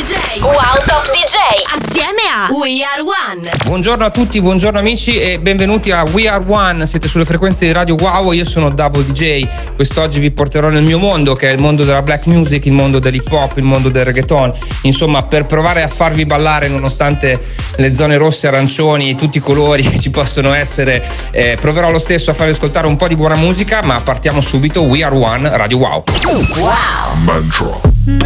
Top DJ assieme a We Are One. Buongiorno a tutti, buongiorno amici e benvenuti a We Are One. Siete sulle frequenze di Radio Wow, io sono Double DJ. Quest'oggi vi porterò nel mio mondo, che è il mondo della black music, il mondo dell'hip hop, il mondo del reggaeton. Insomma, per provare a farvi ballare nonostante le zone rosse, arancioni, tutti i colori che ci possono essere, proverò lo stesso a farvi ascoltare un po' di buona musica, ma partiamo subito. We Are One, Radio Wow. Wow. Mantra.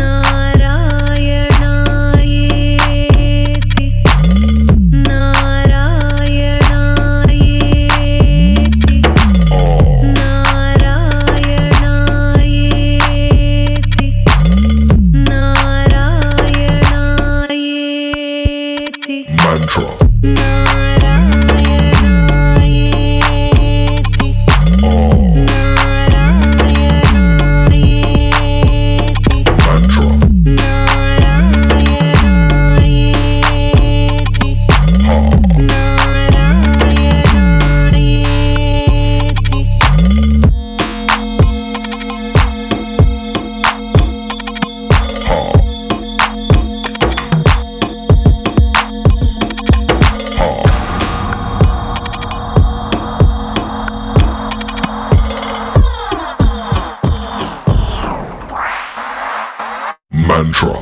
Mantra.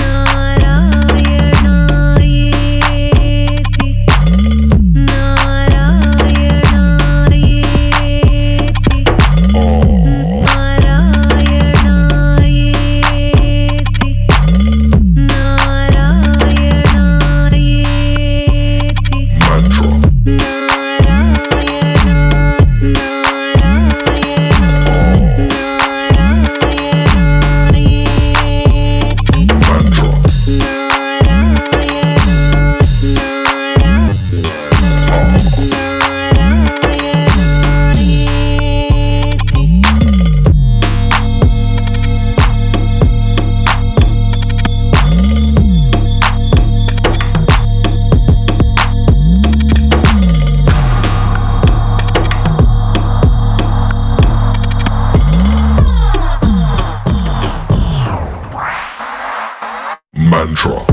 Mantra.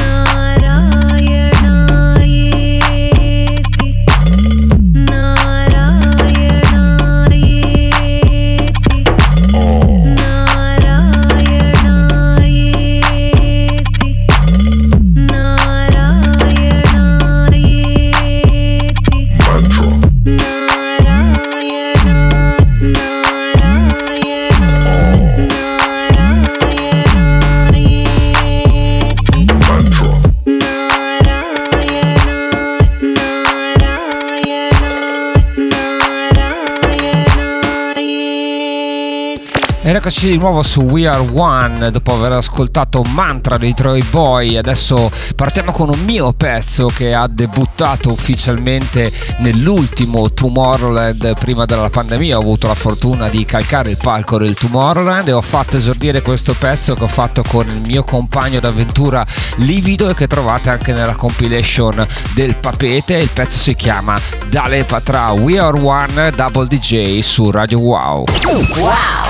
Eccoci di nuovo su We Are One dopo aver ascoltato Mantra dei Troy Boy. Adesso partiamo con un mio pezzo che ha debuttato ufficialmente nell'ultimo Tomorrowland prima della pandemia. Ho avuto la fortuna di calcare il palco del Tomorrowland e ho fatto esordire questo pezzo che ho fatto con il mio compagno d'avventura Livido e che trovate anche nella compilation del Papete. Il pezzo si chiama Dale Patra. We Are One, Double DJ su Radio Wow. Wow.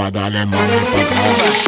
va, dale mami pa' atrás.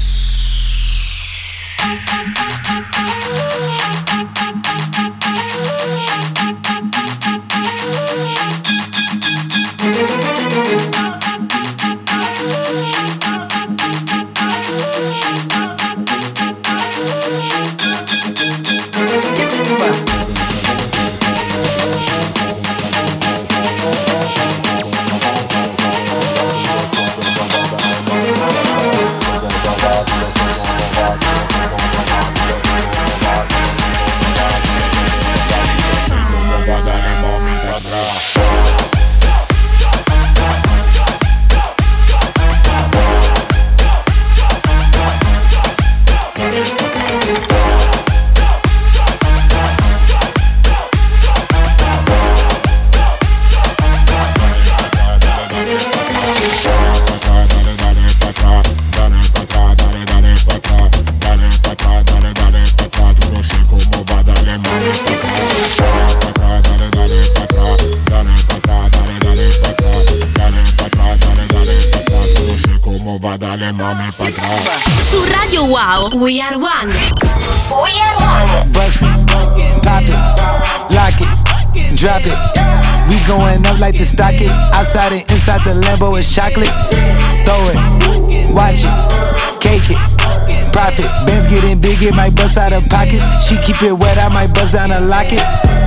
Su Radio Wow, We Are One. We Are One. Bust it, pop it, lock it, drop it. We going up like the stock it. Outside and inside the Lambo is chocolate. Throw it, watch it, cake it, profit. Bands getting big, it might bust out of pockets. She keep it wet, I might bust down a locket.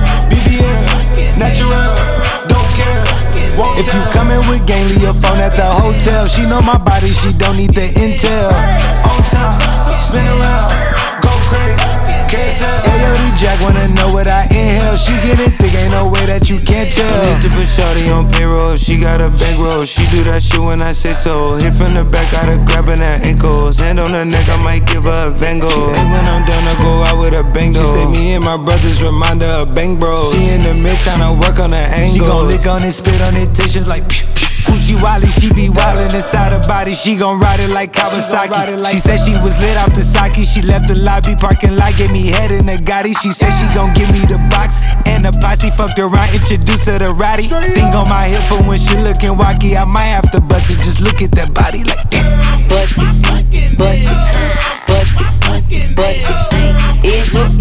BBL, natural, don't care. If you coming with gang, leave your phone at the hotel. She know my body, she don't need the intel. On top, spin around, go crazy, carousel. Ayo, Jack wanna know what I inhale. She getting thick, ain't no way that you can't tell. Need to put shawty on payroll, she got a bankroll. She do that shit when I say so. Hit from the back, got her grabbing her ankles. Hand on her neck, I might give her a Van Gogh. Hey, when I'm done, I go out with a bang though. She say me and my brothers remind her of bang bros. She in the mid tryna work on her angle. She gon' lick on it, spit on it, tissues like pew pew. Gucci Wally, she be wildin' inside her body. She gon' ride it like Kawasaki. She said she was lit off the sake. She left the lobby parking lot, gave me head in the Gotti. She said she gon' give me the box and the posse. Fucked around, introduced her to Roddy. Thing on my hip for when she looking wacky. I might have to bust it, just look at that body like damn. Bust it, bust it, bust it, bust it. Is you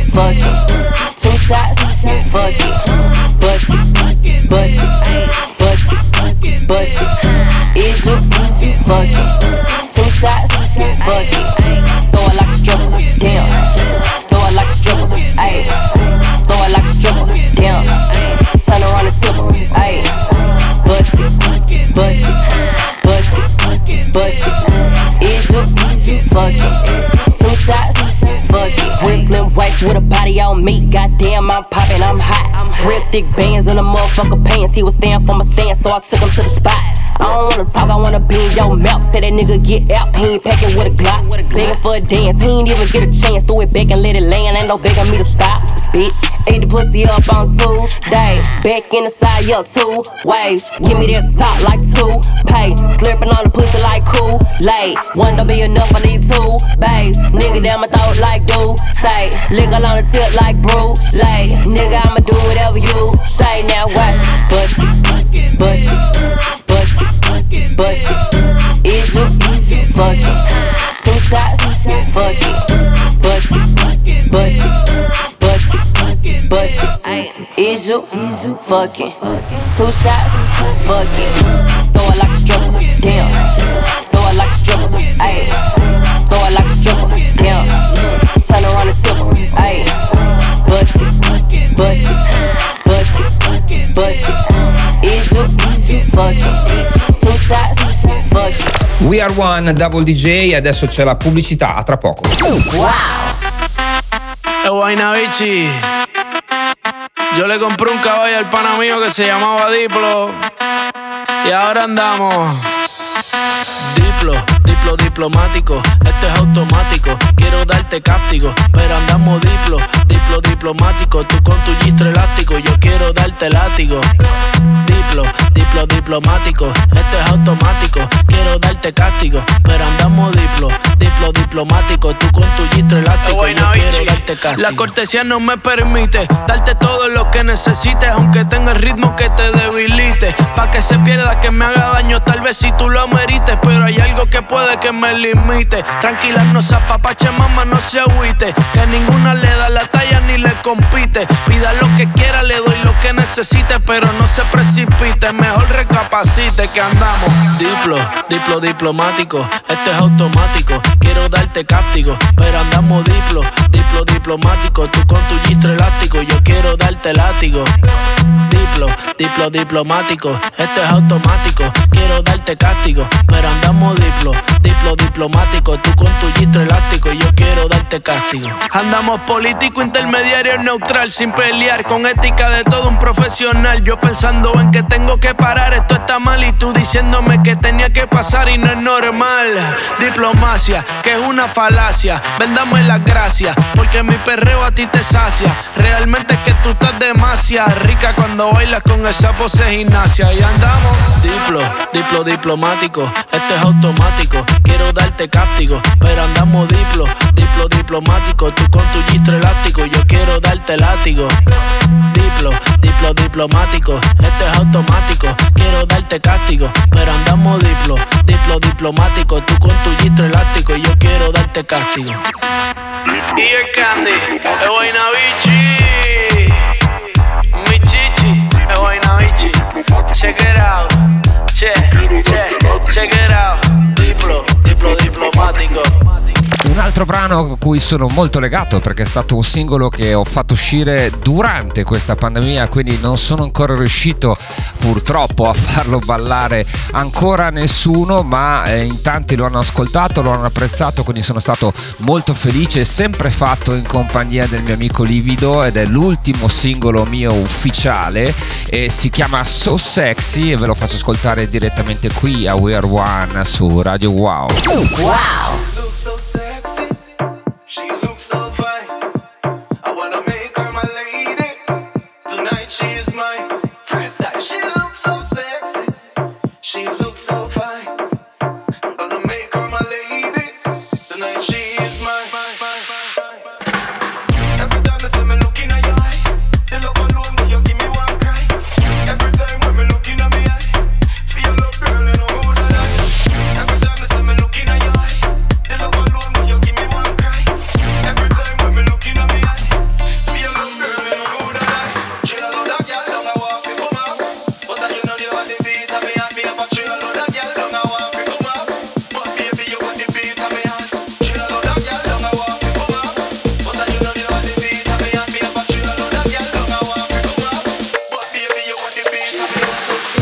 fucking 2 shots? Fuck it, bust it, bust it, bust it. Bust it, is you fucking 2 shots? Fuck it, throw it like a stripper, damn. Throw it like a stripper, ayy. Throw it like a stripper, damn. Turn around and tip her, ayy. Bust it, bust it, bust it, bust it. Is you fucking 2 shots? Fuck it. Real slim waist with a body on me. Goddamn, I'm poppin', I'm hot. Real thick bands in the motherfucker pants. He was staying for my stance, so I took him to the spot. I don't wanna talk, I wanna be in your mouth. Say that nigga get out, he ain't packing with a Glock. Begging for a dance, he ain't even get a chance. Threw it back and let it land, ain't no begging me to stop. Bitch, ate the pussy up on Tuesday. Back in the side, up 2 ways. Give me that top like 2 pay. Slurping on the pussy like Kool-Aid. One don't be enough, I need 2 bays. Nigga down my throat like do say. Lick on the tip like Bruce Lee. Nigga, I'ma do whatever you say. Now watch me, bust it, bust it, bust it, bust it. Is you fucking 2 shots? Fuck it, bust it, bust it, bust it, bust it. Is you fucking 2 shots? Fuck it, throw it like a stripper, damn. Throw it like a stripper, ayy. Throw it like a stripper, damn. Turn around and tip her, ayy. Bust it, bust it, bust it, bust it. Is you fucking 2 shots? Fuck it. We Are One, Double DJ, e adesso c'è la pubblicità, a tra poco. Wow. Guaynabichi. Yo le compré un caballo al pana mío que se llamaba Diplo. Y ahora andamos. Diplo diplomático, esto es automático. Quiero darte castigo, pero andamos diplomático. Tú con tu gistro elástico, yo quiero darte látigo. Diplo diplomático, esto es automático. Quiero darte castigo, pero andamos diplomático. Tú con tu gistro elástico, yo quiero darte darte castigo. La cortesía no me permite darte todo lo que necesites, aunque tenga el ritmo que te debilite. Pa' que se pierda, que me haga daño, tal vez si tú lo amerites, pero hay algo que puede que me limite. Tranquila, no se apapache, mamá, no se agüite, que ninguna le da la talla ni le compite. Pida lo que quiera, le doy lo que necesite, pero no se precipite, mejor recapacite que andamos. Diplomático, esto es automático. Quiero darte castigo, pero andamos diplomático. Tú con tu gistro elástico, yo quiero darte látigo. Diplomático, esto es automático. Quiero darte castigo, pero andamos diplomático. Tú con tu gistro elástico, yo quiero darte castigo. Andamos político, intermediario, neutral, sin pelear, con ética de todo un profesional. Yo pensando en que tengo que parar, esto está mal, y tú diciéndome que tenía que pasar y no es normal. Diplomacia, que es una falacia. Vendame las gracias, porque mi perreo a ti te sacia. Realmente es que tú estás demasiado rica cuando bailas con esa pose gimnasia. Y andamos diplomático, esto es automático. Quiero darte castigo, pero andamos diplomático. Tú con tu gistro elástico, yo quiero darte látigo. Diplomático, esto es automático. Quiero darte castigo, pero andamos diplomático. Tú con tu gistro elástico, yo quiero darte castigo. Y el Candy, es Guaynabichi. Mi chichi, es Guaynabichi. Check it out, check it out. Diplomático. Un altro brano a cui sono molto legato, perché è stato un singolo che ho fatto uscire durante questa pandemia, quindi non sono ancora riuscito purtroppo a farlo ballare ancora nessuno, ma in tanti lo hanno ascoltato, lo hanno apprezzato, quindi sono stato molto felice. Sempre fatto in compagnia del mio amico Livido, ed è l'ultimo singolo mio ufficiale e si chiama So Sexy, e ve lo faccio ascoltare direttamente qui a We Are One su Radio Wow. So sexy, she looks so fine. I wanna make her my lady. Tonight she is mine. Freestyle. She looks so sexy, she looks so fine. I'm gonna make her my lady. Tonight she is mine. Every time I see me looking at your eye, the look alone when you give me one cry. Every time when me looking at me eye, feel love girl and I'm out of life. Every time I see me looking at your eye, the love alone when you give me one cry. Every time when me looking at me eye, feel love girl and I'm out of life. Chill out that girl, don't I want to come off, but you know you want the beat of me and me have a chill out that girl, don't I want to come off, but baby you want the beat of me and chill out that girl, don't I want to come off, but you know you want the beat of me and me have a chill out that girl, don't I want to come off, but baby you want the beat of me.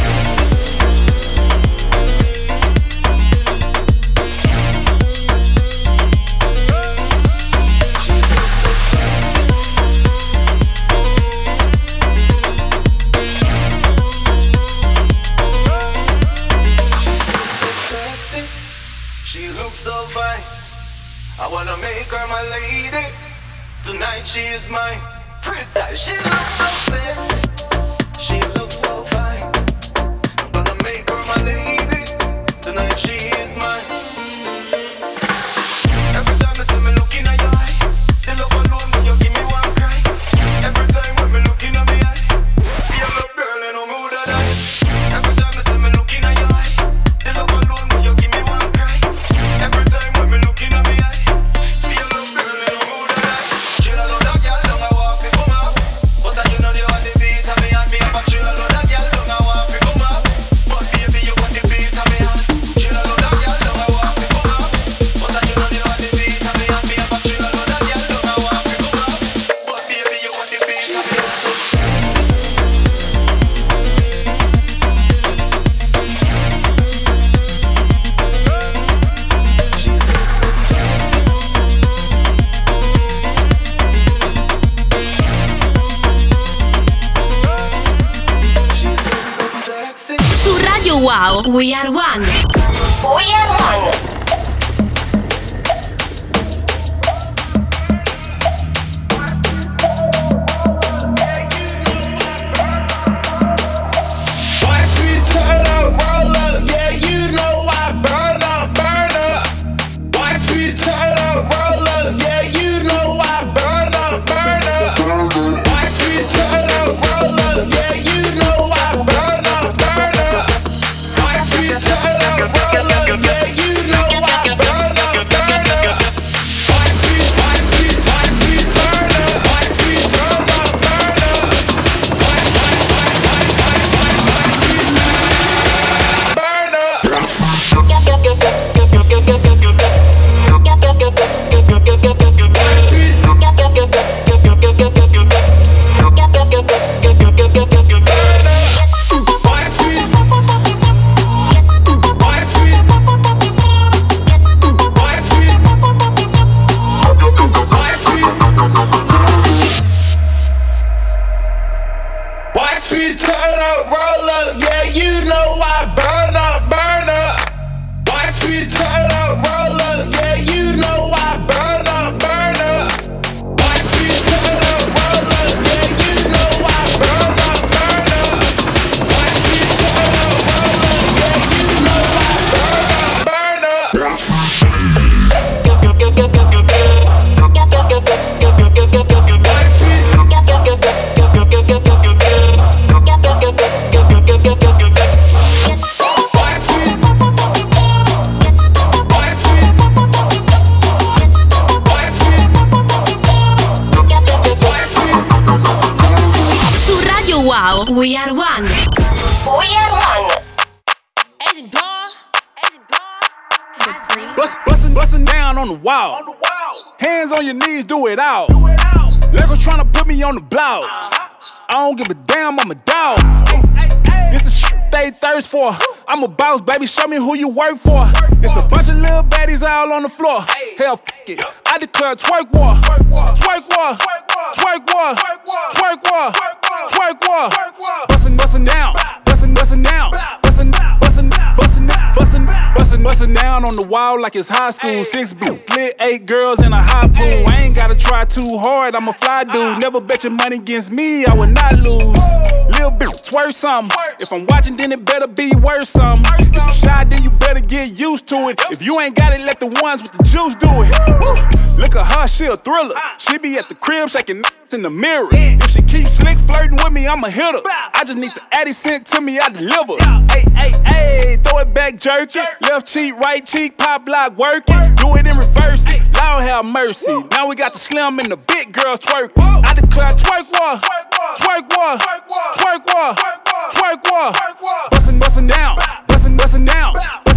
Sexy, she looks so fine. I wanna make her my lady. Tonight she is mine. Freestyle. She looks so sexy, she looks so fine. I'm gonna make her my lady. Tonight she is mine. Every time I see me looking at your eye, the love alone when you give me one cry. Every time when me looking at me eye, feel love girl and I'm out of life. Every time I see me looking at your eye, the love alone when you give me one cry. Every time when me looking at me eye, feel love girl and I'm out of life. Chill out that girl, don't I want to come off, but you know you want the beat of me and me have a chill out that girl, don't I want to come off, but baby you want the beat of me and chill out that girl, don't I want to come off, but you know you want the beat of me and me have a chill out that girl, don't I want to come off, but baby you want the beat of me. Su Radio Wow, We Are One. We Are One. Watch me turn up, roll up, yeah, you know I burn up. Watch me turn up, roll up, yeah, you know I burn up. We are one. We are one. Agent Dawn. Bustin' down on the wall. Hands on your knees, do it all. Legos tryna put me on the blocks. I don't give a damn, I'm a dog. This the shit they thirst for. I'm a boss, baby, show me who you work for. It's a bunch of little baddies all on the floor. Hell, f it, I declare twerk war. Twerk war, twerk war, twerk war, twerk war. Bustin' down, bustin' down, bustin' down on the wall like it's high school. 6 blue, lit 8 girls in a hot pool. I ain't gotta try too hard, I'm a fly dude. Never bet your money against me, I would not lose. Lil' bitch, twerk something. If I'm watching, then it better be worth something. If you shy, then you better get used to it. If you ain't got it, let the ones with the juice do it. Look at her, she a thriller. She be at the crib shaking in the mirror. If she keeps slick flirting with me, I'ma hit her. I just need the Addy sent to me, I deliver. Hey, throw it back, jerk it. Left cheek, right cheek, pop lock, work it. Do it in reverse it, Lord have mercy. Now we got the slim and the big girls twerk. I declare twerk war, twerk war, twerk war, twerk war. Bustin' down, bustin' down,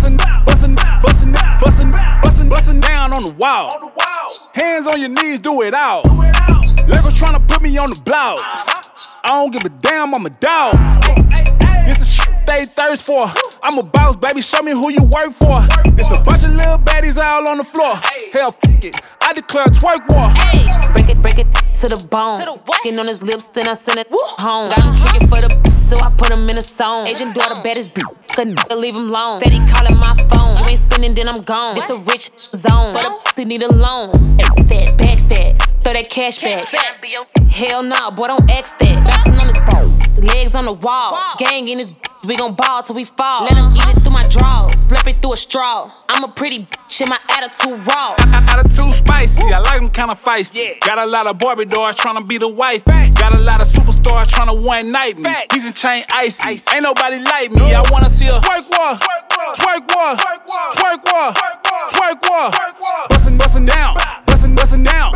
bustin' down on the wall. Hands on your knees, do it all. Legos tryna put me on the blocks. I don't give a damn, I'm a dog. This the shit they thirst for. I'm a boss, baby, show me who you work for. It's a bunch of little baddies all on the floor. Hell, f it, I declare twerk war. Break it to the bone. Fucking on his lips, then I send it home. Got him tricking for the so I put him in a zone. Agent Dawn, the baddest bitch. Couldn't leave him alone. Steady calling my phone. You ain't spinning, then I'm gone. It's a rich zone. For the pussy need a loan. Fat, back fat. Throw that cash back. Hell nah, boy, don't X that. Bouncing on his boat. Legs on the wall. Gang in his we gon' ball till we fall. Let him eat it through my drawers. Slip it through a straw. I'm a pretty bitch and my attitude raw. Attitude spicy, I like them kinda feisty. Got a lot of Barbie dolls tryna be the wife. Got a lot of superstars tryna one night me. These and chain icy. Ain't nobody like me. I wanna see a twerk war, twerk war, twerk war, twerk war. Bustin' down, bustin' down,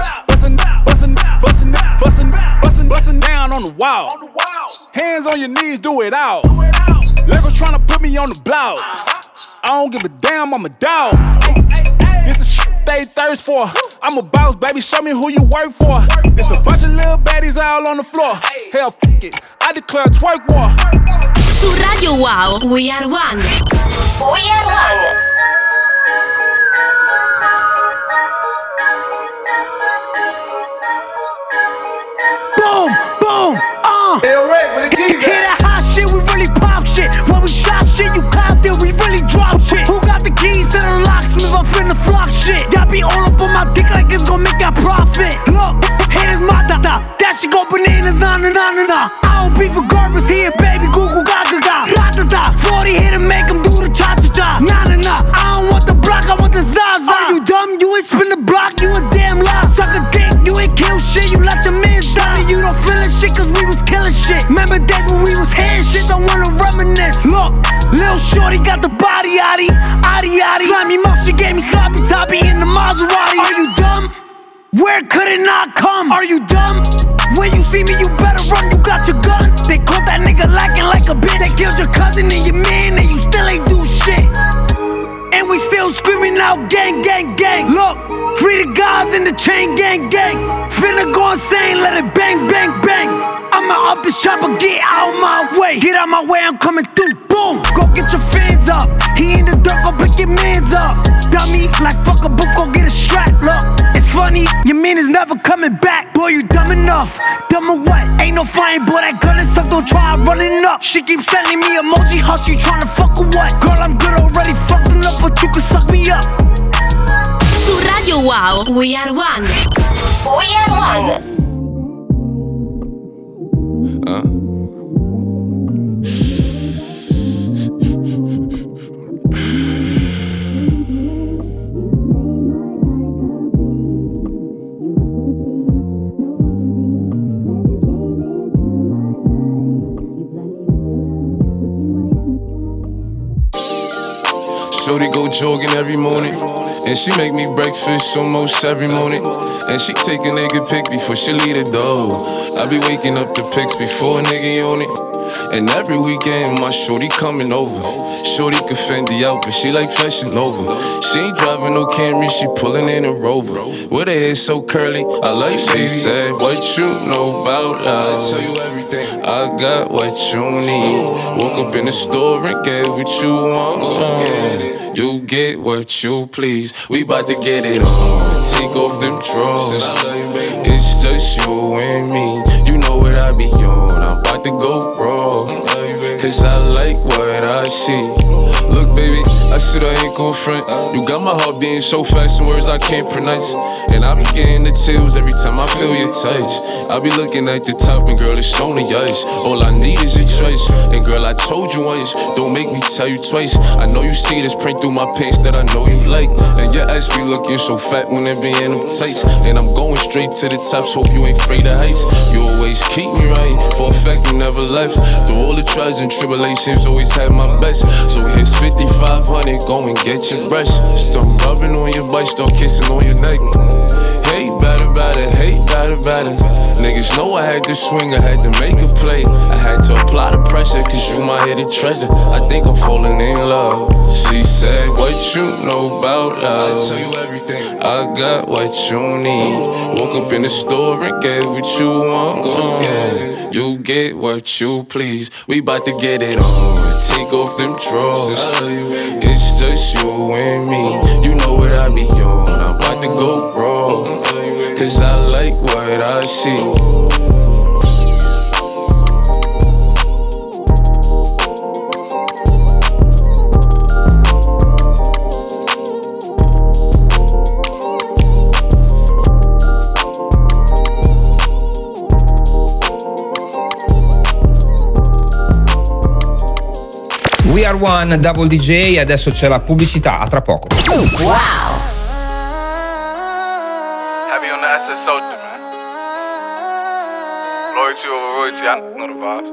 bustin' down on the wall. Hands on your knees, do it all. Legos tryna put me on the blocks. I don't give a damn, I'm a dog. This the shit they thirst for. I'm a boss, baby, show me who you work for. It's a bunch of little baddies all on the floor. Hell, f it, I declare twerk war. Su Radio Wow, We Are One. We Are One. Boom, boom, Hear that hot shit, we really pop shit. When we shot shit, you copped it, we really drop shit. Who got the keys to the locksmith? I'm finna flock shit. Y'all be all up on my dick like it's gon' make that profit. Look, haters my da-da. That shit go bananas, na-na-na-na-na. I don't beef with garbage here, baby, goo-goo gaga-ga. Ra-da-da, 40 here to make them do the cha-cha-cha. Na-na-na, I don't want the block, I want the Zaza. Are you dumb? You ain't spin the block, you a damn lie. Suck a dick, you ain't kill shit, you let your mans die. You don't feel it shit, cause we was killing shit. Remember days when we was hearing shit, don't wanna reminisce. Look, Lil Shorty got the body, yaddy, yaddy, yaddy. Slimy mouth, she gave me sloppy toppy in the Maserati. Are you dumb? Where could it not come? Are you dumb? When you see me, you better run, you got your gun. They caught that nigga lacking like a bitch. They killed your cousin and your man, and you still ain't do shit. And we still screaming out gang, gang, gang. Look, free the guys in the chain gang, gang. Finna go insane, let it bang, bang, bang. I'ma up this chopper, get out my way. Get out my way, I'm coming through, boom. Go get your fans up. He in the dirt, go pick your mans up. Dummy, like fuck a booth, go get a strap. Look, it's funny, your man is never coming back. Boy, you dumb enough, dumb or what? Ain't no flying, boy, that gun is suck, don't try running up. She keeps sending me emoji hush, you tryna fuck or what? Girl, I'm good already, fucking up, but you can suck me up. Su Radio Wow, We Are One. We Are One. Shorty go jogging every morning, and she make me breakfast almost every morning. And she take a nigga pic before she leave the door. I be waking up the pics before a nigga on it. And every weekend, my shorty coming over. Shorty can Fendi out, but she like Fashion Nova. She ain't driving no Camry, she pulling in a Rover. With her hair so curly, I like she said, what you know about love? I tell you everything. I got what you need. Woke up in the store and get what you want. You get what you please. We bout to get it on. Take off them drawers. It's just you and me. You know what I be on. I'm about to go raw. Cause I like what I see. Look, baby, I said I ain't gon' front. You got my heart beating so fast, some words I can't pronounce. And I be getting the chills every time I feel your touch. I be looking at the top and girl, it's only ice. All I need is your choice. And girl, I told you once, don't make me tell you twice. I know you see this print through my pants that I know you like. And your ass be looking so fat when it be in them tights. And I'm going straight to the top, so hope you ain't afraid of heights. You always keep me right, for a fact you never left. Through all the trials and tribulations, always had my best. So here's 5,500, go and get your brush. Start rubbing on your butt, start kissing on your neck. Hate better, hate better. Niggas know I had to swing, I had to make a play. I had to apply the pressure, cause you my hidden treasure. I think I'm falling in love. She said, what you know about love? I tell you everything. I got what you need. Woke up in the store and get what you want. You get what you please. We bout to get it on. Take off them drawers. It's just you and me. You know what I be on. I'm about to go raw. Cause I like what I see. We Are One, Double DJ, adesso c'è la pubblicità, a tra poco. Wow. Heavy on the SS soldier, man. Loyalty over royalty, I know the vibes.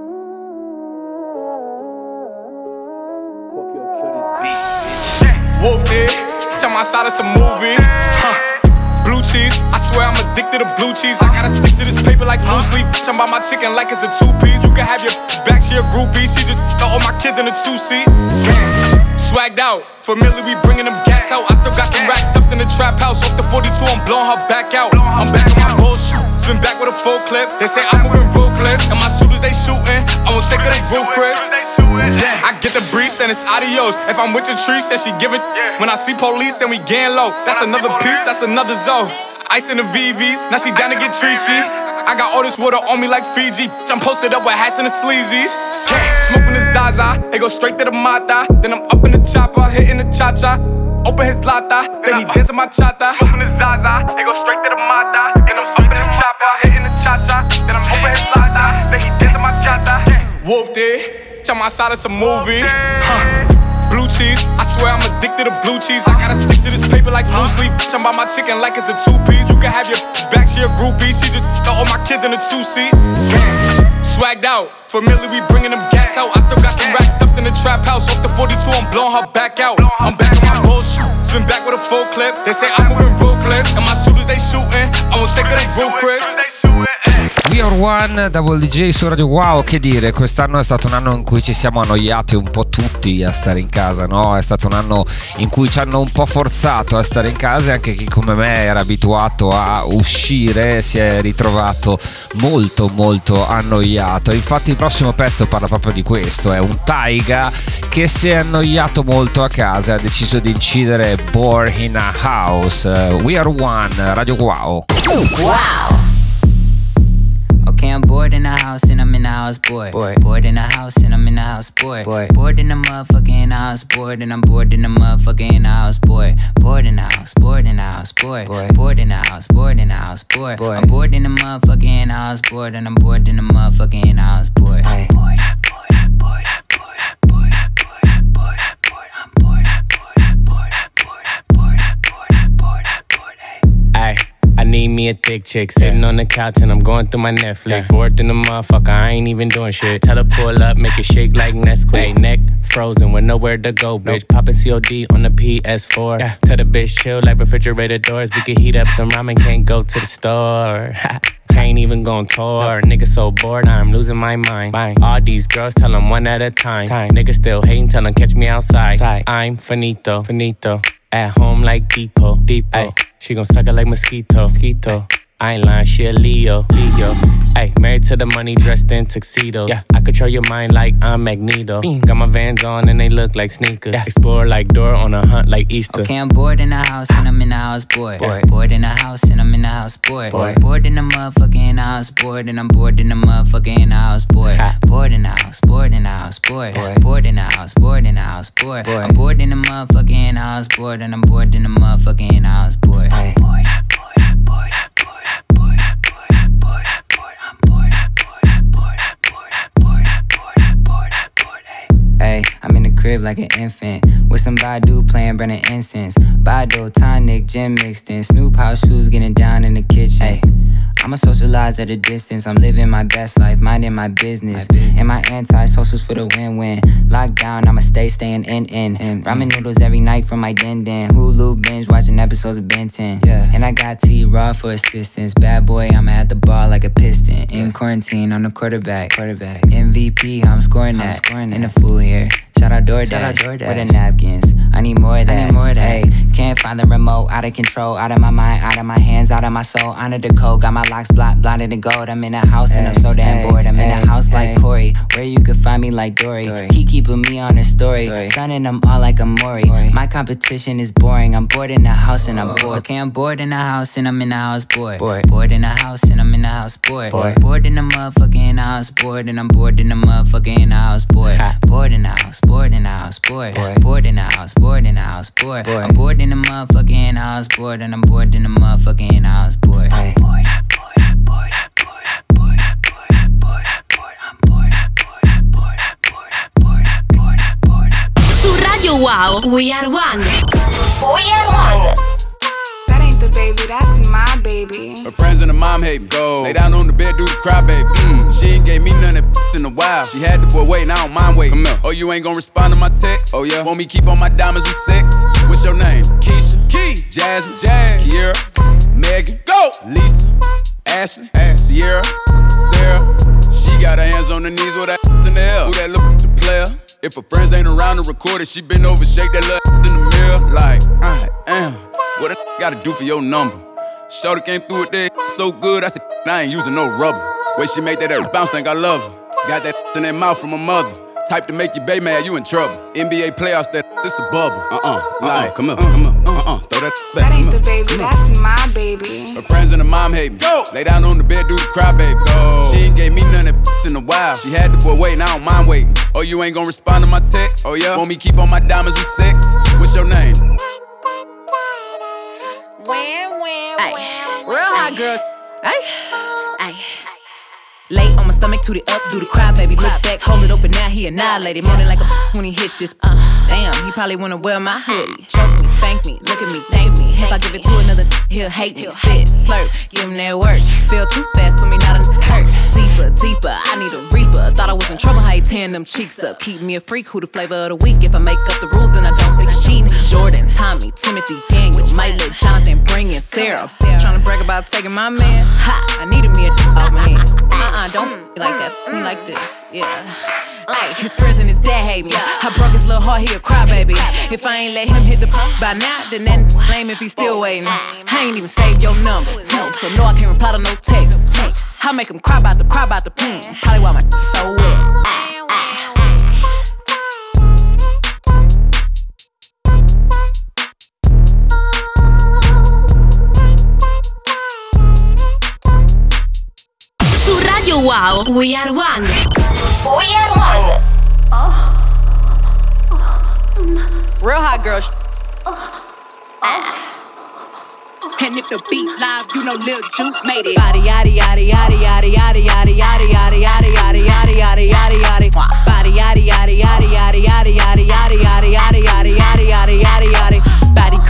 Whooped it, jump outside of some movie. Blue cheese, I swear I'm addicted to blue cheese. I gotta stick to this paper like blue sleep. I'm by my chicken like it's a two-piece. You can have your back, she a groupie. She just got all my kids in a two-seat. Swagged out, familiar, we bringing them gas out. I still got some racks stuffed in the trap house. Off the 42, I'm blowing her back out. I'm back on my bullshit, spin back with a full clip. They say I'm moving ruthless, and my shooters they shooting. I won't take her, they roof, Chris. I get the breeze, then it's adios. If I'm with your trees, then she give it. When I see police, then we gang low. That's another piece, that's another zone. Ice in the VVs, now she down to get treachy. I got all this water on me like Fiji. I'm posted up with hats and the sleazies. Smoking the Zaza, they go straight to the Mata. Then I'm up in the chopper, hitting the cha-cha. Open his lata, then he dancing my chata. Smoking the Zaza, they go straight to the Mata. Then I'm up in the chopper, hitting the cha-cha. Then I'm open his lata, then he dancing my chata. Whooped it, I'm outside of some movie. Blue cheese, I swear I'm addicted to blue cheese. I gotta stick to this paper like blue sleep. I'm by my chicken like it's a two-piece. You can have your back, she a groupie. She just got all my kids in a two-seat. Swagged out, familiar, we bringing them gas out. I still got some racks stuffed in the trap house. Off the 42, I'm blowing her back out. I'm back on my bullshit, spin back with a full clip. They say I'm moving ruthless, and my shooters they shooting. I won't take her, they roof, Chris. We Are One, Double DJ su Radio Wow. Che dire, quest'anno è stato un anno in cui ci siamo annoiati un po' tutti a stare in casa, no? È stato un anno in cui ci hanno un po' forzato a stare in casa e anche chi come me era abituato a uscire si è ritrovato molto molto annoiato. Infatti il prossimo pezzo parla proprio di questo, è un Taiga che si è annoiato molto a casa e ha deciso di incidere Bored in a House. We Are One, Radio Wow. Wow. Okay, I'm bored in the house and I'm in the house, bored. Bored in the house and I'm in the house, bored. Bored in the motherfucker in the house, bored. And I'm bored in the motherfucker in the house, bored. Bored in the house, bored in the house, bored. Bored in the house, bored in the house, bored. I'm bored in the motherfucker in the house, bored. And I'm bored in the motherfucker in the house, bored. I'm bored, bored, bored, bored, bored, bored, bored, bored. I'm bored, bored, bored, bored, bored, bored, bored, bored. Ay, I need me a thick chick. Sitting on the couch and I'm going through my Netflix. Fourth in the motherfucker, I ain't even doing shit. Tell her pull up, make it shake like Nesquik. Hey, neck frozen with nowhere to go, bitch. Poppin' COD on the PS4. Tell the bitch chill like refrigerator doors. We can heat up some ramen, can't go to the store. Can't even go on tour. Nigga so bored, I'm losing my mind. All these girls tell them one at a time. Nigga still hating, tell them catch me outside. I'm finito. At home like Depot. Ay, she gon' suck it like mosquito. I ain't lying, she a Leo. Ay, married to the money, dressed in tuxedos. I control your mind like I'm Magneto. Got my Vans on and they look like sneakers. Explore like Dora on a hunt like Easter. Okay, I'm bored in the house and I'm in the house, bored. Bored in the house and I'm in the house, bored. Bored in the motherfucker in the house, bored. And I'm bored in the motherfucker in the house, bored. Bored in the house, bored in the house, bored. Bored in the house, bored in the house, bored. I'm bored in the motherfucker in the house, bored. And I'm bored in the motherfucker in the house, bored. I'm bored. Hey, I'm in the crib like an infant with some Badu playing burning incense. Badu, tonic, gin mixed in. Snoop house shoes getting down in the kitchen. Hey, I'ma socialize at a distance. I'm living my best life, minding my business. And my anti-socials for the win-win. Lockdown, I'ma staying in. Ramen noodles every night from my den. Hulu binge watching episodes of Ben 10. And I got T-Raw for assistance. Bad boy, I'ma at the bar like a piston. In quarantine, I'm the quarterback. MVP, I'm scoring that. In the food here. Shout out DoorDash. Where the napkins? I need more of that. Hey, can't find the remote. Out of control. Out of my mind. Out of my hands. Out of my soul. Honor the code. Got my locks blinded in gold. I'm in a house and I'm so damn bored. I'm in a house like Corey, where you could find me like Dory. He keeping me on his story. Sunning them all like a Maury. My competition is boring. I'm bored in the house and I'm bored. Okay, I'm bored in the house and I'm in the house bored. Bored in the house and I'm in the house bored. Bored in the motherfucker in the house bored. And I'm bored in the motherfucker in the house bored. Bored in the house. Bored in the house, bored. Bored in the house, bored in the house, bored. I'm bored in the motherfucker in the house, bored. And I'm bored in the motherfucker in the house, bored. I'm bored. Su Radio Wow, We Are One. We Are One. That ain't the baby, that's my baby. Her friends and her mom hate me. Go lay down on the bed, do the cry, baby. She ain't gave me none of that in a while. She had the boy waiting, I don't mind waiting. Come here. Oh, you ain't gon' respond to my text? Oh yeah. Want me keep on my diamonds with sex? What's your name? Keisha, Key, Jasmine, Kiera, Megan, go, Lisa, Ashley, Sierra, Sarah. She got her hands on her knees with that in the air. Who that look the player? If her friends ain't around to record it, she been over, shake that little in the mirror. Like, I am. What a gotta do for your number? Shorty came through with that so good, I said, I ain't using no rubber. Way she make that bounce, think I love her. Got that in that mouth from her mother. Type to make your bae mad, you in trouble. NBA playoffs, this a bubble. Like, come here, throw that back. That ain't the baby, that's my baby. Her friends and her mom hate me. Go lay down on the bed, do the cry, baby. Go. She ain't gave me none of that in a while. She had the boy waiting, I don't mind waiting. Oh, you ain't gon' respond to my text? Oh yeah. Want me keep on my diamonds with sex? What's your name? Real hot girl. Ay. Lay on my stomach, toot it up, do the cry, baby. Look back, hold it open, now he annihilated. Moaning like a when he hit this. Damn, he probably wanna wear my hoodie. Choke me, spank me, look at me, thank me. If I give it to another, he'll hate me. Spit, slurp, give him that work. Feel too fast for me, not a hurt. Deeper, I need a reaper. Thought I was in trouble, how he tearing them cheeks up. Keep me a freak, who the flavor of the week. If I make up the rules, then I don't think it's cheating. Jordan, Tommy, Timothy, Daniel, might let Jonathan bring in Sarah. Tryna brag about taking my man. Ha, I needed me a off my hands. Don't be like that, me like this, yeah. Ay, his friends and his dad hate me. I broke his little heart, he a cry, baby. If I ain't let him hit the by now, then that blame if he still waiting. I ain't even saved your number, so no, I can't reply to no text. I make him cry about the probably why my so wet. Su Radio Wow, We Are One. We Are One. Real hot girl. And if the beat live, you know Lil Juke made it. Body yaddy yaddy yaddy yaddy yaddy yaddy yaddy yaddy yaddy yaddy yaddy yaddy yaddy yaddy. Body yaddy yaddy yaddy yaddy yaddy yaddy yaddy yaddy yaddy yaddy yaddy yaddy yaddy yaddy. Body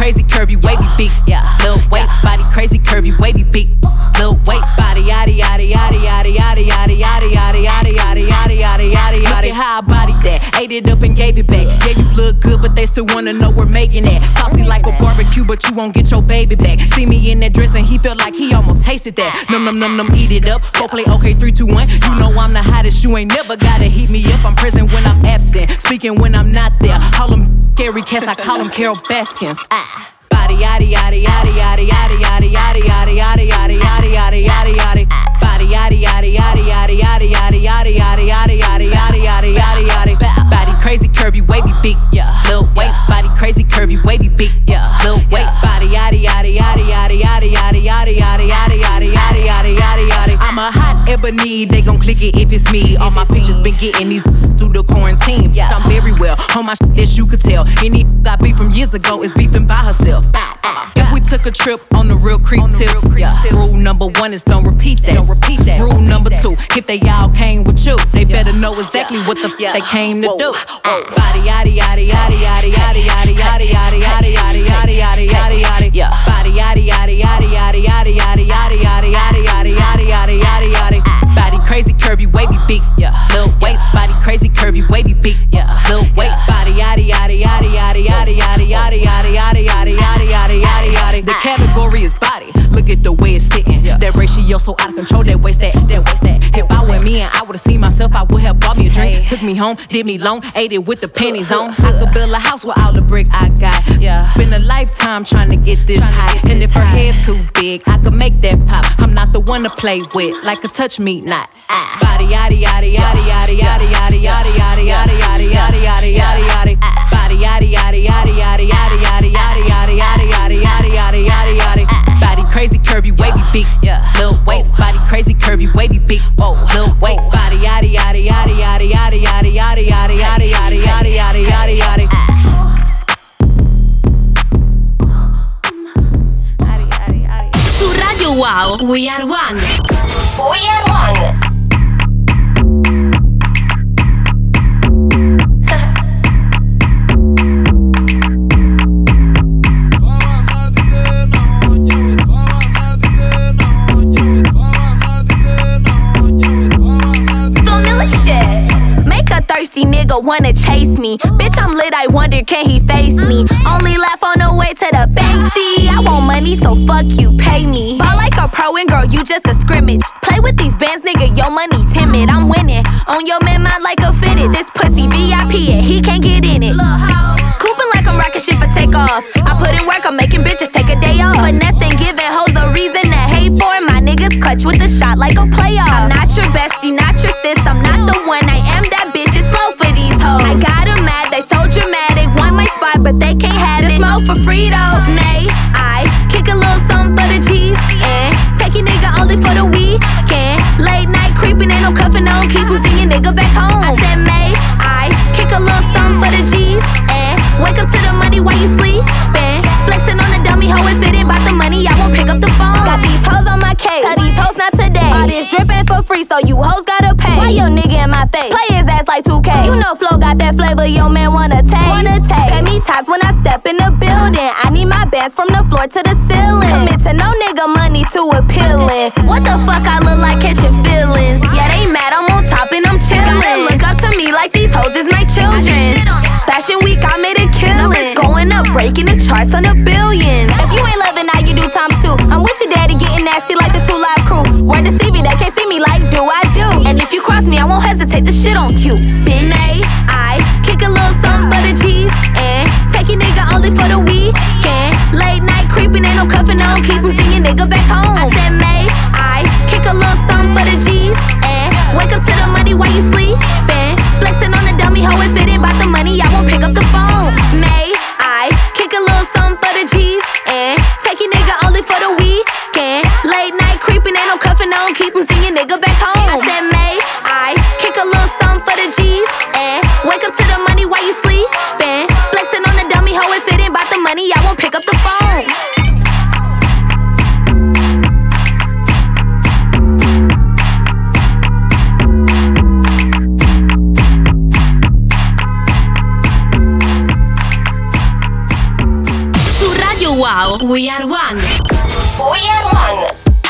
crazy, curvy, wavy, big, yeah. Lil waist, body crazy, curvy, wavy, big. Lil waist, body, yaddy, yaddy, yaddy, yaddy, yaddy, yaddy, yaddy, yaddy, yaddy, yaddy, yaddy, yaddy, yaddy. Look at how I bodied that, ate it up and gave it back. Yeah, you look good, but they still wanna know we're making that. Saucy like a barbecue, but you won't get your baby back. See me in that dress and he felt like he almost tasted that. Num num num num, eat it up. Go play okay, 3, 2, 1. You know I'm the hottest, you ain't never gotta heat me up. I'm present when I'm absent, speaking when I'm not there. Call them scary cats, I call them Carol Baskins. Body yaddy yaddy yaddy yaddy yaddy yaddy yaddy yaddy yaddy yaddy yaddy yaddy yaddy yaddy. Body yaddy yaddy yaddy yaddy yaddy yaddy yaddy yaddy yaddy yaddy yaddy yaddy yaddy yaddy. Body crazy, curvy, wavy, big, yeah. Lil waist, body crazy, curvy, wavy, big, yeah. Lil waist, body yaddy yaddy yaddy yaddy yaddy yaddy yaddy yaddy yaddy yaddy yaddy yaddy yaddy yaddy. I'm a hot ebony, they gon' click it if it's me. All my pictures been getting these through the quarantine. Yeah, I'm very well on my shit, as you could tell. Any got beef from years ago is beefing by herself. If we took a trip on the real creep tip, yeah. Rule number 1 is don't repeat that. Don't repeat that. Rule number 2, if they all came with you, they better know exactly what the they came to do. Body yaddy yaddy yaddy yaddy yaddy yaddy yaddy yaddy yaddy yaddy yaddy yaddy yaddy yaddy. Yeah. Body yaddy yaddy yaddy yaddy yaddy yaddy yaddy yaddy yaddy yaddy yaddy yaddy yaddy yaddy. Body crazy, curvy, wavy, big, yeah. Lil waist, body crazy, curvy, wavy, big, yeah. Lil waist, body yaddy yaddy yaddy yaddy yaddy yaddy yaddy yaddy yaddy yaddy yaddy yaddy yaddy yaddy. The category is body. Look at the way it's sitting. That ratio so out of control. That waist that. If I were me and I would've seen myself, I would have bought me a drink. Took me home, did me long, ate it with the pennies on. I could build a house with all the brick I got. Yeah, been a lifetime trying to get this high. And if her head too big, I could make that pop. I'm not the one to play with, like a touch me not. Body yaddy yaddy yaddy yaddy yaddy yaddy yaddy yaddy yaddy yaddy yaddy yaddy yaddy yaddy. Body yaddy yaddy yaddy yaddy yaddy yaddy yaddy yaddy yaddy yaddy yaddy yaddy yaddy yaddy. Body crazy, curvy, wavy, big, yeah. Lil waist, body crazy, curvy, wavy, big, whoa. Lil waist, body yaddy yaddy yaddy yaddy yaddy yaddy yaddy yaddy yaddy yaddy yaddy yaddy yaddy yaddy. Su Radio Wow, We Are One. We Are One. Thirsty nigga wanna chase me. Bitch, I'm lit, I wonder can he face me. Only laugh on the way to the bank. See, I want money, so fuck you, pay me. Ball like a pro and girl, you just a scrimmage. Play with these bands, nigga, your money timid. I'm winning, on your man mind like a fitted. This pussy VIP and he can't get in it. Cooping like I'm rocking shit for takeoff. I put in work, I'm making bitches take a day off. Finesse and giving hoes a reason to hate for. My niggas clutch with a shot like a playoff. I'm not your bestie, not your sis, I'm not the one. I am that bitch. Slow for these hoes. I got them mad, they so dramatic. Want my spot, but they can't have it. Smoke for free though. May I kick a little something for the G's and take your nigga only for the weekend. Late night creeping, ain't no cuffing on. Keep him seeing nigga back home. I said may I kick a little something for the G's and wake up to the money while you sleepin'. Flexing on the dummy hoe, if it ain't about the money, I won't pick up the phone. Got these hoes on my case, tell these hoes not today. All this drippin' for free, so you hoes gotta pay. Why your nigga in my face? Play his ass like 2K. You know Flo got that flavor, your man wanna taste. Pay me ties when I step in the building. I need my bands from the floor to the ceiling. Commit to no nigga money too appealing. What the fuck I look like catching feelings? Yeah, they mad, I'm on top and I'm chillin'. Gotta look up to me like these hoes is my children. Fashion week, I made a killing. Numbers going up, breaking the charts on the billions. If you ain't loving now, you do times two. I'm with your daddy getting nasty like the 2 Live Crew. Word to CV, they can't see me like do I do. And if you cross me, I won't hesitate to shit on you, bitch. May I kick a little something for the G's and take your nigga only for the weekend. Late night creeping, ain't no cuffing on. Keep him seeing nigga back home. I said may I kick a little something for the G's and wake up to the money while you sleepin'. Flexing on the dummy hoe, if it ain't about the money, I won't pick up the phone. May I kick a little something for the G's and take your nigga only for the weekend. Late night creeping, ain't no cuffing on. Keep him seeing nigga back home. I said may I kick a little something for the G's and wake up to the money while you sleepin'. Flexing on the dummy hoe, if it ain't about the money, I won't pick up the phone. Wow, We Are One. We Are One.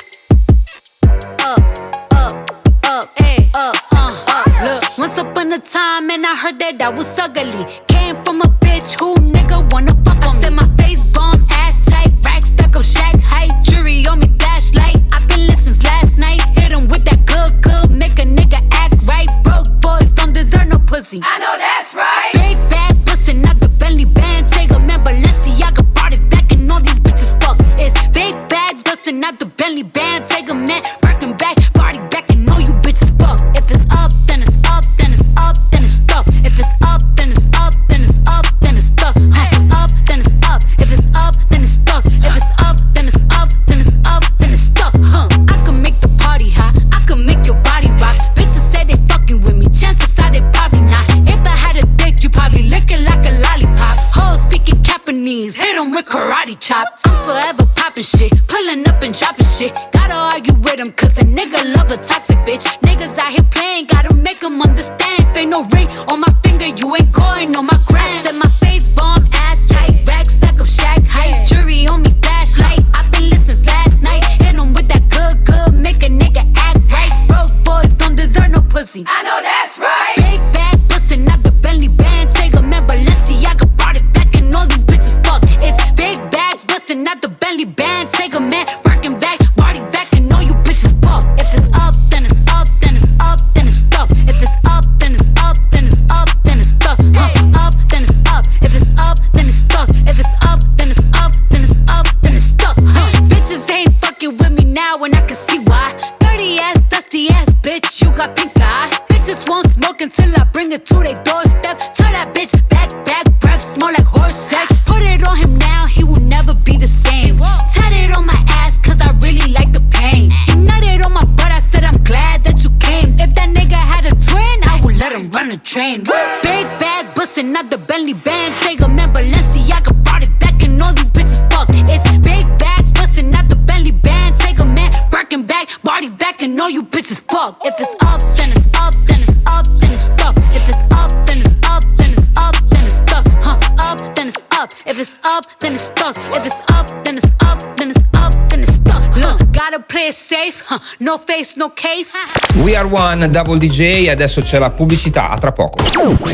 Look, once upon a time, and I heard that I was ugly. Came from a bitch who nigga wanna fuck on me. Said my face bomb, ass tight, rack stuck up, shack height, jury on me, flashlight. I've been listening since last night. Hit him with that good, make a nigga act right. Broke boys don't deserve no pussy. I know that's right. Big bag bustin' out the Bentley band. Take a man, Balenciaga brought it back, and all these bitches fuck. It's big bags bustin' out the Bentley band. Take a man, working back, party back, and all you bitches fuck. If it's up, then it's up, then it's up, then it's stuck. If it's up, then it's up, then it's up, then it's stuck. Up, then it's up. If it's up, then it's stuck. If it's up, then it's up, then it's up, then it's stuck. I can make the party hot, I can make your body rock. Bitches say they fucking with me, chances are they probably not. If I had a dick, you probably lick it like a lollipop. Hoes speaking Japanese, hit 'em with karate chop. I'm forever popping shit, pulling up and dropping shit. Gotta argue with 'em, cause a nigga love a toxic bitch. Niggas out here playing, gotta make 'em understand. If ain't no ring on my finger, you ain't going on my gram. Said my face bomb, ass tight, rack stack up, shack height, jury on me, flashlight. I've been listening since last night. Hit 'em with that good, make a nigga act right. Broke boys don't deserve no pussy. I know that's right. Big bag bustin' out the Bentley band. Take a man, Balenciaga brought it back, and all these bitches fuck. It's big bags bustin' out the Bentley band. Take a man, working back, body back, and all you bitches fuck. If it's up, then it's up, then it's up, then it's stuck. If it's up, then it's up, then it's up, then it's stuck. Up, then it's up. If it's up, then it's stuck. If it's up, then it's up, then it's up, then it's stuck. Bitches ain't fucking with me now, and I can see why. Dirty ass, dusty ass bitch, you got pink eye. Bitches won't smoke until I bring it to their doorstep. Tell that bitch back, breath smell like horse sex. Put it on him now, he will never be the same. Tat it on my ass, cause I really like the pain. He nutted on my butt, I said I'm glad that you came. If that nigga had a twin, I would let him run a train. Big bag bustin' out the Bentley band. Take a man, Balenciaga brought it back, and all these bitches fuck. It's big bags bustin' out the Bentley band. Take a man, Birkin back, body back, and all you bitches fuck. If it's up, then it's up, then it's up, then it's stuck. If it's up, then it's up, then it's up, then it's stuck. Up, then it's up. If it's up, then it's stuck. If it's up, then it's up, then it's up, then it's stuck. Gotta play it safe, no face, no case. We Are One, Double DJ, adesso c'è la pubblicità, a tra poco.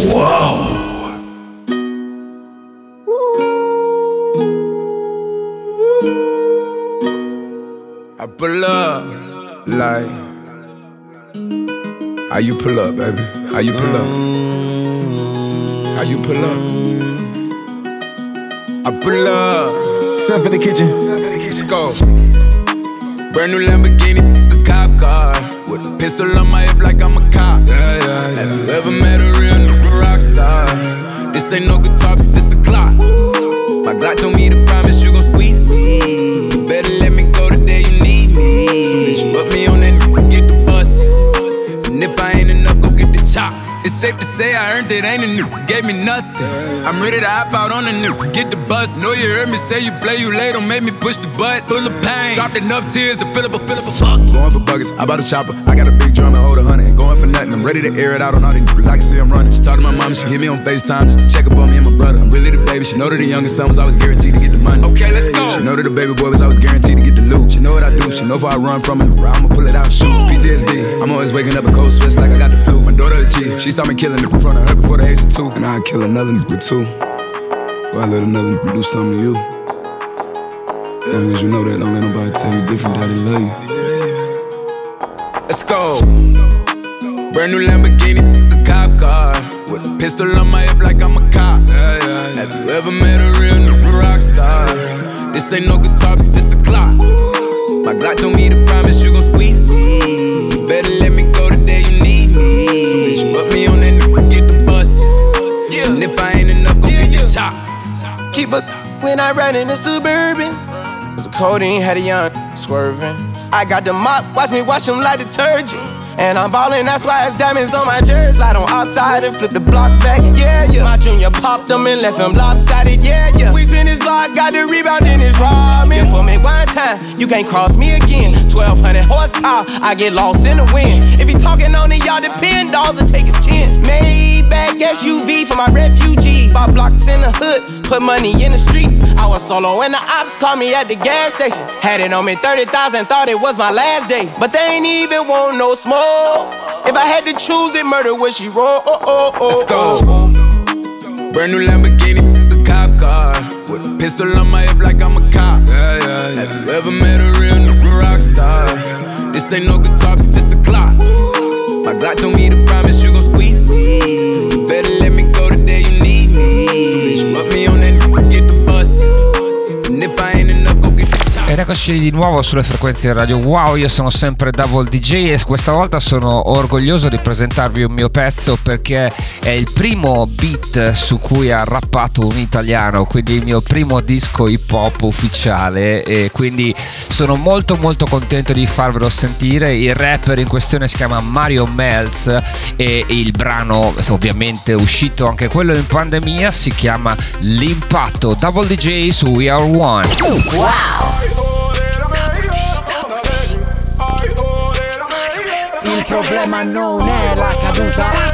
Wow. I pull up like how you pull up, baby? How you pull up? How you pull up? I pull up. Step in the kitchen. Let's go. Brand new Lamborghini, a cop car. With a pistol on my hip like I'm a cop. Have you ever met a real nigga rock star? This ain't no guitar, but this a Glock. My Glock told me to promise you gon' squeeze me. You better let me go the day you need me. So bitch, put me on that nigga, get the bus. And if I ain't enough, go get the chop. It's safe to say I earned it, ain't a nigga, gave me nothing. I'm ready to hop out on a nigga, get the bus. Know you heard me say you play, you late, don't make me push the butt. Full of pain, dropped enough tears to fill up a fuck. Going for buggers, I bought a chopper. I got a big drum and hold 100. Going for nothing, I'm ready to air it out on all these niggas. I can see I'm running. She talked to my mom, she hit me on FaceTime just to check up on me and my brother. I'm really the baby, she know that the youngest son was always guaranteed to get the money. Okay, let's go. She know that the baby boy was always guaranteed to get the loot. She know what I do, she know if I run from it, I'ma pull it out and shoot. PTSD, I'm always waking up in cold sweats like I got the flu. My daughter a G, she saw me killing it in front of her before the age of 2. And I'd kill another nigga too, before I let another nigga do something to you. As long as you know that, don't let nobody tell you different, daddy love you. Let's go. Brand new Lamborghini, a cop car. With a pistol on my hip like I'm a cop. Have you ever met a real nigga rock star? This ain't no guitar, but this a Glock. My Glock told me to promise you gon' squeeze me. You better let me go the day you need me. So bitch, put me on that nigga, get the bus. And if I ain't enough, go get the chop. Keep a when I ride in the Suburban. Cause the codeine had a young swerving. I got the mop, watch me wash him like detergent. And I'm ballin', that's why it's diamonds on my jersey. Slide on outside and flip the block back, yeah. My junior popped him and left him lopsided, yeah. We spin his block, got the rebound in his ramen. For me one time, you can't cross me again. 1200 horsepower, I get lost in the wind. If he talking on it, y'all depend, dolls will take his chin. Maybach SUV for my refugees. 5 blocks in the hood, put money in the streets. I was solo when the ops called me at the gas station. Had it on me 30,000, thought it was my last day. But they ain't even want no smoke. If I had to choose it, murder would she roll? Let's go. Brand new Lamborghini, a cop car. With a pistol on my hip like I'm a cop. Have you ever met a real nigga rock star? This ain't no guitar, but this a clock. My Glock told me to promise you gon' squeeze me. Better let me go the day you need me. So bitch, put me on that get the bus. And if I ain't enough, go get the top. Ed eccoci di nuovo sulle frequenze di Radio Wow. Io sono sempre Double DJ e questa volta sono orgoglioso di presentarvi un mio pezzo perché è il primo beat su cui ha rappato un italiano, quindi il mio primo disco hip hop ufficiale, e quindi sono molto contento di farvelo sentire. Il rapper in questione si chiama Mario Melz e il brano, ovviamente uscito anche quello in pandemia, si chiama L'impatto. Double DJ su We Are One. Wow! Il problema non è la caduta.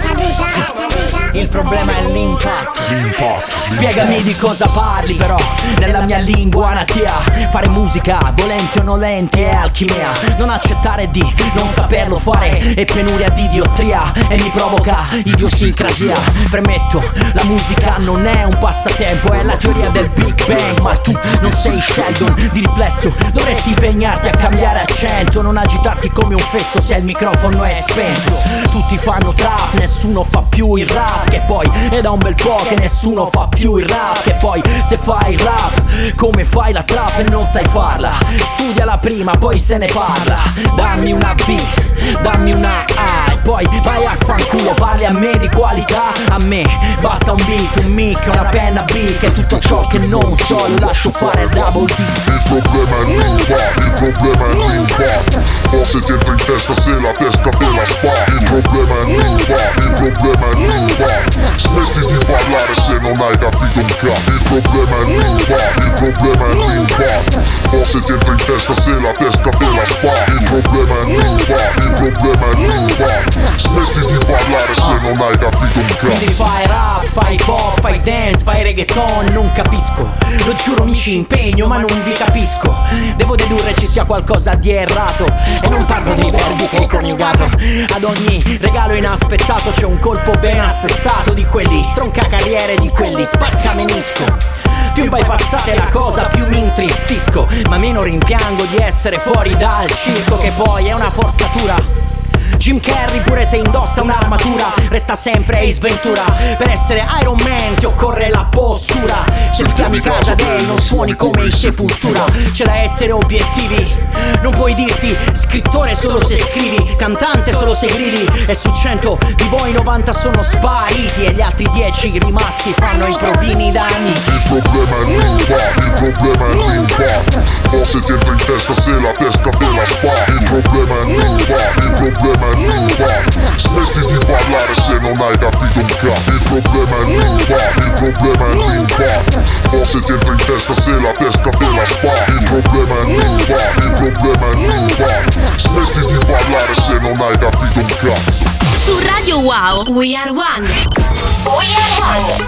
Il problema è l'impatto. Spiegami di cosa parli però, nella mia lingua natia. Fare musica, volenti o nolenti, è alchimia. Non accettare di non saperlo fare è penuria di idiotria e mi provoca idiosincrasia. Premetto, la musica non è un passatempo, è la teoria del Big Bang. Ma tu non sei Sheldon, di riflesso dovresti impegnarti a cambiare accento. Non agitarti come un fesso se il microfono è spento. Tutti fanno trap, nessuno fa più il rap. Che poi è da un bel po' che nessuno fa più il rap. Che poi se fai il rap come fai la trap e non sai farla, studiala prima poi se ne parla. Dammi una B, dammi una A e poi vai a fanculo. Parli a me di qualità, a me basta un beat, un mic, una penna B. Che tutto ciò che non so lo lascio fare Double D. Il problema è l'impatto, il problema è l'impatto. Forse ti entra in testa se la testa te la fa. Il problema è l'impatto, il problema è l'impatto. Smetti di parlare se non hai capito un cazzo. Il problema è l'impatto, il problema è l'impatto. Forse ti entra in testa se la testa te la fa. Il problema è l'impatto, il problema è l'impatto. Smetti di parlare se non hai capito un Quindi cazzo. fai rap, fai pop, fai dance, fai reggaeton, non capisco. Lo giuro mi ci impegno ma non vi capisco. Devo dedurre ci sia qualcosa di errato e non parlo dei verbi che hai coniugato. Ad ogni regalo inaspettato c'è un colpo ben assestato di quelli stronca carriere, di quelli spacca menisco. Più bypassate la cosa più mi intristisco, ma meno rimpiango di essere fuori dal circo, che poi è una forzatura. Jim Carrey pure se indossa un'armatura resta sempre Ace Ventura. Per essere Iron Man ti occorre la postura. Se ti chiami Casa Day non suoni come in Sepultura. C'è da essere obiettivi, non puoi dirti scrittore solo se scrivi, cantante solo se gridi. E su 100 di voi 90 sono spariti e gli altri 10 rimasti fanno i provini da amici. Il problema è l'impatto, il problema è l'impatto. Forse ti entra in testa se la testa te la fa. Il problema è l'impatto, il problema è l'impatto. Smetti di parlare se non hai capito un cazzo. Il problema è l'impatto, il problema è l'impatto. Forse ti entra in testa se la testa te la fa. Il problema è l'impatto, il problema è l'impatto. Smetti di parlare se non hai capito un cazzo. Su Radio Wow, We Are One. We Are One.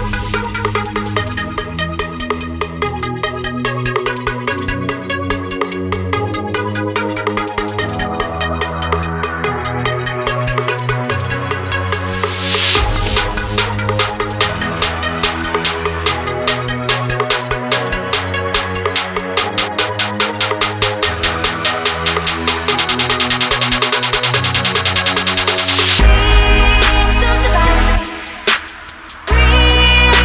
Dreams don't survive.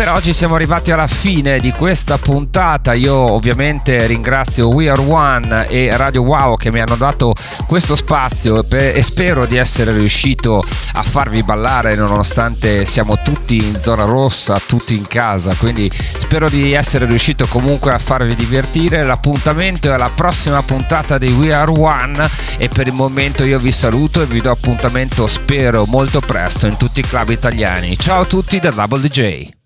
per oggi siamo arrivati alla fine di questa puntata. Io ovviamente ringrazio We Are One e Radio Wow che mi hanno dato questo spazio e spero di essere riuscito a farvi ballare nonostante siamo tutti in zona rossa, tutti in casa, quindi spero di essere riuscito comunque a farvi divertire. L'appuntamento è alla prossima puntata di We Are One e per il momento io vi saluto e vi do appuntamento, spero molto presto, in tutti i club italiani. Ciao a tutti da Double DJ.